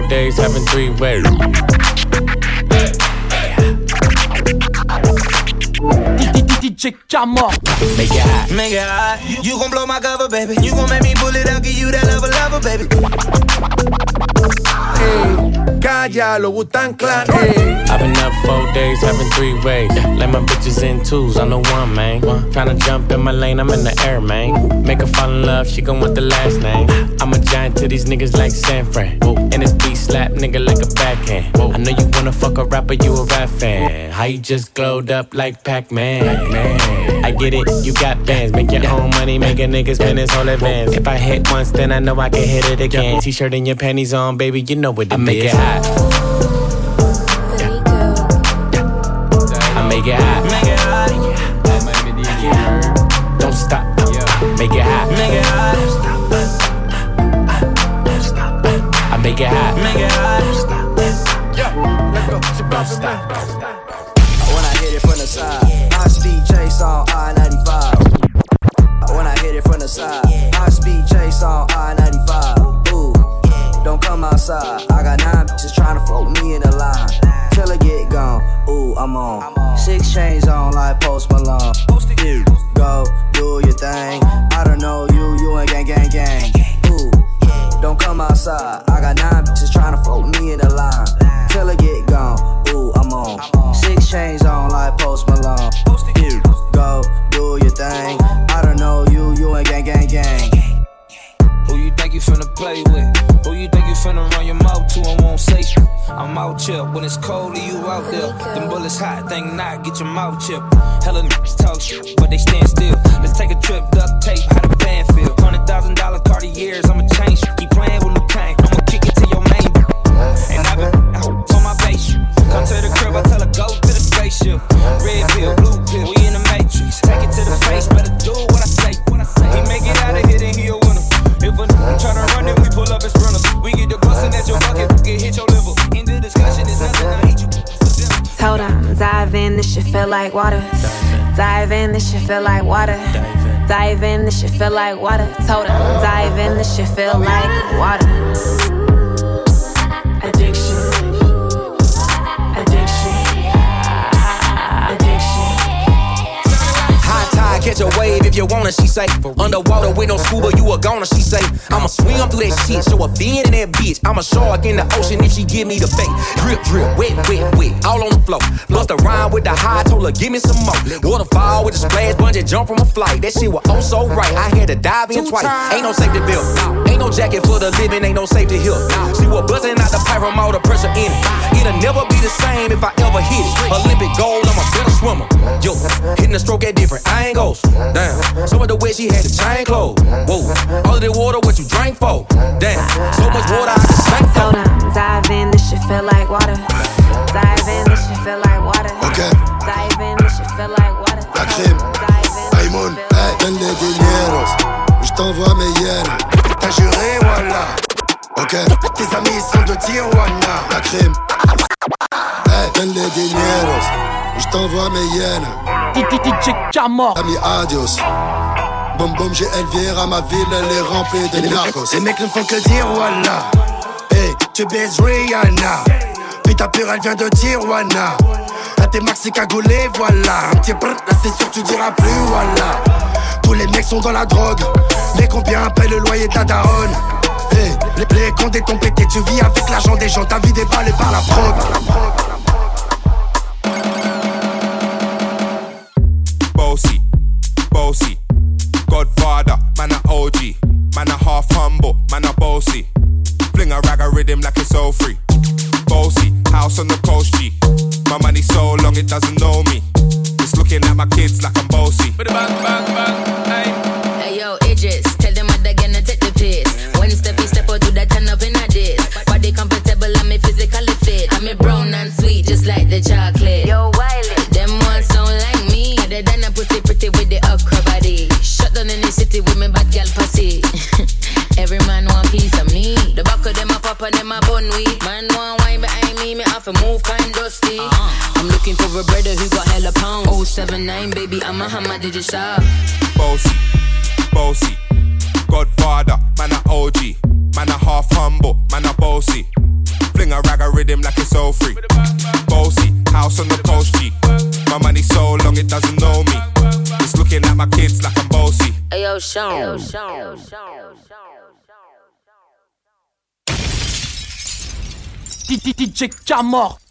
days having 3 ways. DJ Jammer. Make it hot. Make it hot. You gon' blow my cover, baby. You gon' make me pull it out, give you that lover, baby. Hey, cállalo, Wu-Tang Clan. Hey. I've been up 4 days having 3 ways. Let my bitches in twos, I'm the one, man. Tryna jump in my lane, I'm in the air, man. Make her fall in love, she gon' want the last name. I'm a giant to these niggas like San Fran. And this beat slap nigga like a backhand. I know you wanna fuck a rapper, you a rap fan. How you just glowed up like Pac-Man? I get it, you got bands. Make your own money, make a nigga spend his whole advance. If I hit once, then I know I can hit it again. T-shirt and your panties on, baby, you know what it is. I make it hot. I make it hot. Make it hot. Don't stop. Make it hot. Make it hot. I make it hot. Make it hot. Don't stop. When I hit it from the side, high speed chase on I-95. When I hit it from the side, high speed chase on I-95. Ooh, don't come outside. I got 9 bitches tryna fuck with me in the line. Till it get gone. Ooh, I'm on. 6 chains on like Post Malone. Go do your thing. I don't know you ain't gang. Ooh, don't come outside. I got 9 bitches tryna fuck with me in the line. Till it get gone. Ooh, I'm on. 6 chains on like Post Malone. Go do your thing. I don't know you ain't gang. Who you think you finna play with? Who you think you finna run your mouth to and won't say shit? I'm out here when it's cold and you out there. Them bullets hot, think not, get your mouth chipped. Hella niggas talk shit, but they stand still. Let's take a trip, duct tape, how the van feel. $100,000 Cartiers, I'ma change. Keep playing with Luke Kang, I'ma kick it to your main. And I've been on my base. Come to the crib, I tell her go to the spaceship. Red pill, blue pill, we in the matrix. Take it to the face, better do what I say. He make it out of here, then he a winner. If a try to run, then we pull up as runners. We get the bustin' at your bucket, get hit your liver. In the discussion, it's nothing I hate you. Told him, dive in, this shit feel like water. Dive in, this shit feel like water. Dive in, this shit feel like water. Told him, dive in, this shit feel like water. Addiction. Catch a wave if you wanna, she say. Underwater with no scuba, you a goner, she say. I'ma swim through that shit, show a fin in that bitch. I'm a shark in the ocean if she give me the bait. Drip, drip, wet, wet, wet, all on the floor. Bust a rhyme with the high, told her give me some more. Waterfall with the splash, bungee jump from a flight. That shit was oh so right, I had to dive in twice. Ain't no safety belt, ain't no jacket for the living, ain't no safety here. She was busting out the pipe from all the pressure in it. It'll never be the same if I ever hit it. Olympic gold, I'm a better swimmer. Yo, hitting the stroke at different angles. Damn, some of the way she had the chain closed. Whoa, all of the water, what you drank for? Damn, so much water I can sink for. Hold on, dive in, this shit feel like water. Dive in, this shit feel like water. Okay. Dive in, this shit feel like water. La crème, Aïmoun, hey, donne les dineros. Je t'envoie mes yens. T'as juré, voilà. Ok. Tes amis sont de Tijuana. La crème, hey, donne les dineros. Je t'envoie mes yens. DJ Jammer. Ami, adios. Boum boum, j'ai Elvira, ma ville, elle est remplie de narcos. Les mecs ne font que dire voilà. Hey, tu baises Rihanna. Puis ta pure, elle vient de Tijuana. Là t'es maxi cagoulé, voilà. Un petit brrr, là c'est sûr tu diras plus voilà. Tous les mecs sont dans la drogue. Mais combien paye le loyer de la daronne? Hey, les comptes des ton pété, tu vis avec l'argent des gens. Ta vie déballée par la prog. Bossy, Godfather, man a OG, man a half humble, man a bossy. Fling a rag a rhythm like it's all free. Bossy, house on the coast G. My money so long it doesn't know me. It's looking at my kids like I'm bossy. Bang, bang, bang, hey. Hey yo, Idris, tell them what they're gonna take the piss. When step out, do that turn up in a diss. Body comfortable, I'm physically fit. I'm brown and sweet, just like the chocolate. Yo, Wiley, them ones sound like me. Other than a pussy pretty with the okra body. Shut down in the city with me bad gal pussy. Every man want piece of me. The back of them a pop and them a bun weed. Man want wine behind me have to move kind dusty. I'm looking for a brother who got hella pounds. 079, baby, I'm a hammer, did you stop? Bossy, Godfather, man a OG, man a half humble, man a bossy. a rag a rhythm like it's all free. Bossy, house on the coast G. My money so long it doesn't know me. It's looking at my kids like I'm bossy. Ayo, Sean. DJ Camor.